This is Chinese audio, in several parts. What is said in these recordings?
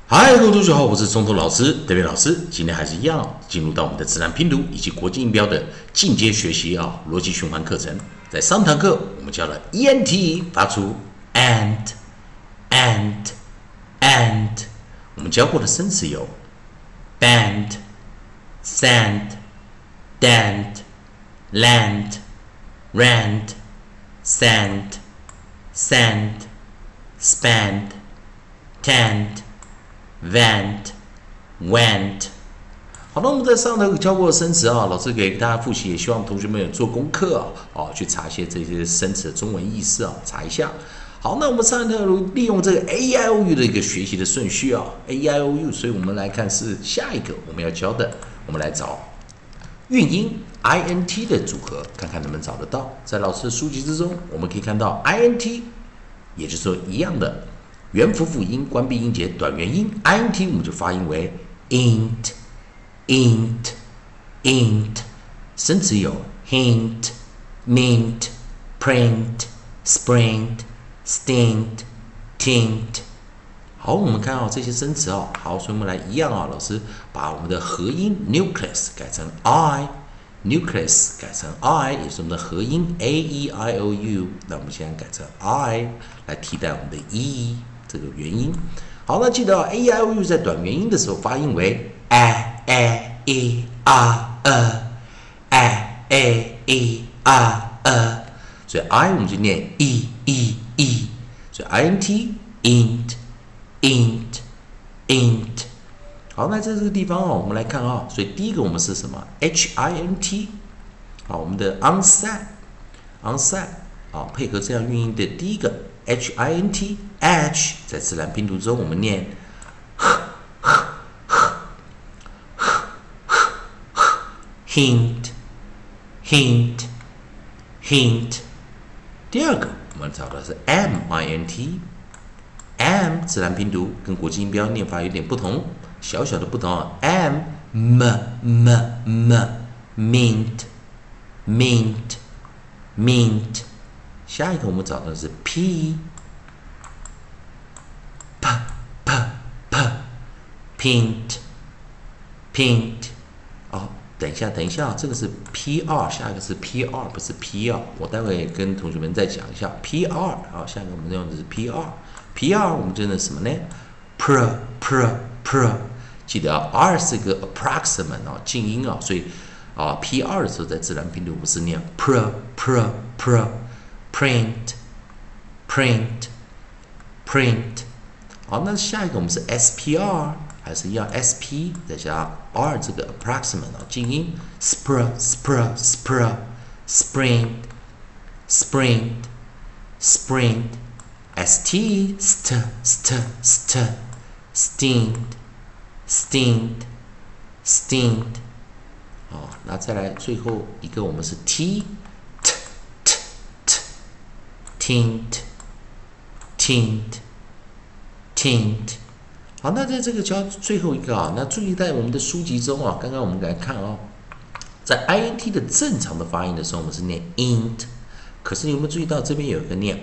嗨，各位同学好，我是中头老师德斌老师。今天还是一样，进入到我们的自然拼读以及国际音标的进阶学习逻辑循环课程。在上堂课我们教了 ENT 发出 and。我们教过的生词有 band、sand、dand、land、rand、sand、sand、spanned、tanned、vent、went。好的，我们在上头教过的生词老师给大家复习，也希望同学们有做功课去查一些这些生词的中文意思查一下。好，那我们上一堂利用这个 AIOU 的一个学习的顺序AIOU， 所以我们来看是下一个我们要教的，我们来找韵音 INT 的组合，看看能不能找得到。在老师的书籍之中，我们可以看到 INT， 也就是说一样的元辅辅音关闭音节短元音 INT， 我们就发音为 int。生词有 hint、mint、print、sprint、stint、tint。好，我们看这些生词好，所以我们来一样老师把我们的合音 nucleus 改成 i，nucleus 改成 i， 也是我们的合音 AEIOU。那我们现在改成 i 来替代我们的 e 这个元音。好，那记得AEIOU 在短元音的时候发音为 e r e， 所以 I 我们就念 e， 所以 INT int。好，那在这个地方我们来看所以第一个我们是什么 HINT， 我们的 onset 配合这样韵音的第一个 HINT edge， 在自然拼读中我们念 hint。第二个我们找的是 MINT， M 自然拼读跟国际音标念法有点不同，小小的不同mint。 下一个我们找的是 P pint。等一下，这个是 PR， 下一个是 PR， 不是 PR， 我待会跟同学们再讲一下 PR。下一个我们用的是 PR， 我们真的什么呢 ？pr， 记得R 是个 approximate 静音所以PR 的时候在自然拼读不是念 print。好，那下一个我们是 SPR。还是一样 SP 再加 R 这个 approximate 静音 spring ST stint。那再来最后一个我们是 tint。好，那在这个教最后一个那注意在我们的书籍中刚刚我们来看在 INT 的正常的发音的时候，我们是念 int， 可是有没有注意到这边有一个念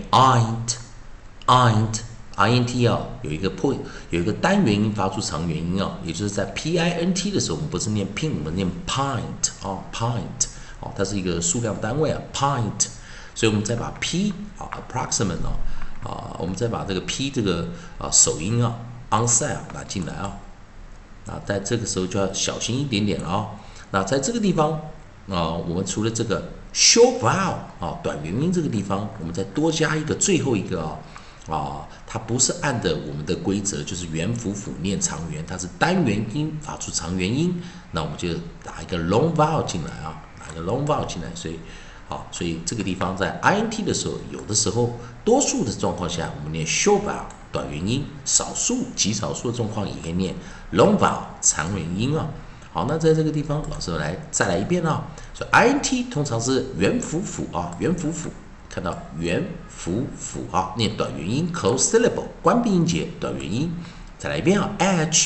INT 有一个单元音发出长元音也就是在 PINT 的时候，我们不是念 pin， 我们念 pint pint 它是一个数量单位pint， 所以我们再把 P approximate 我们再把这个 P 这个首音onset 拿进来那在这个时候就要小心一点点了那在这个地方我们除了这个 short vowel 短元音这个地方，我们再多加一个最后一个它不是按的我们的规则，就是元辅辅念长元，它是单元音发出长元音，那我们就打一个 long vowel 进来打一个 long vowel 进来，所以这个地方在 INT 的时候，有的时候多数的状况下我们念 short vowel 短元音，极少数的状况也可以念 long vowel 长元音好，那在这个地方老师再来一遍所以 INT 通常是元辅辅看到元辅辅念短元音 close syllable 关闭音节短元音，再来一遍edge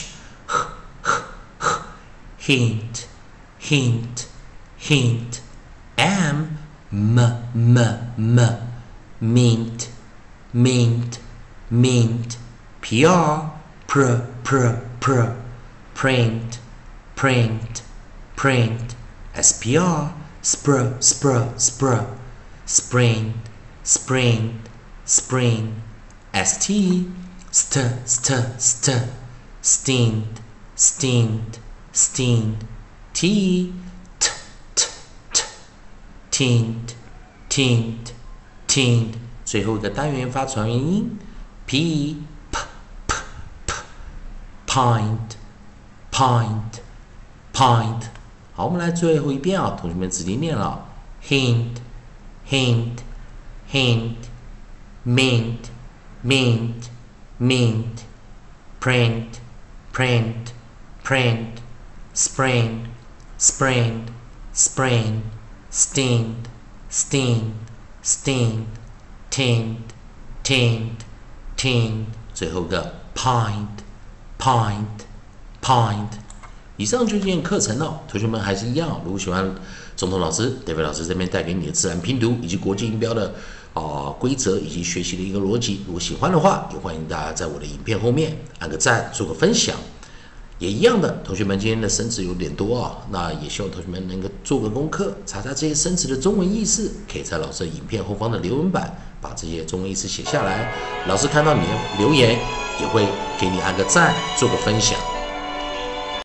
hint mint, PR, print, print, print, spr, spr, spring, spring, spring, st, steamed, t, tint，最后一个单元发长元音 p pint。好，我们来最后一遍啊，同学们直接念了 hint, mint, print, spring, steamed, tint，最后一个 pint。以上就今天课程了，同学们还是一样，如果喜欢总统老师、David 老师这边带给你的自然拼读以及国际音标的规则以及学习的一个逻辑，如果喜欢的话，也欢迎大家在我的影片后面按个赞，做个分享。也一样的，同学们今天的生词有点多啊，那也希望同学们能够做个功课，查查这些生词的中文意思，可以在老师的影片后方的留言板把这些中文意思写下来，老师看到你的留言也会给你按个赞，做个分享。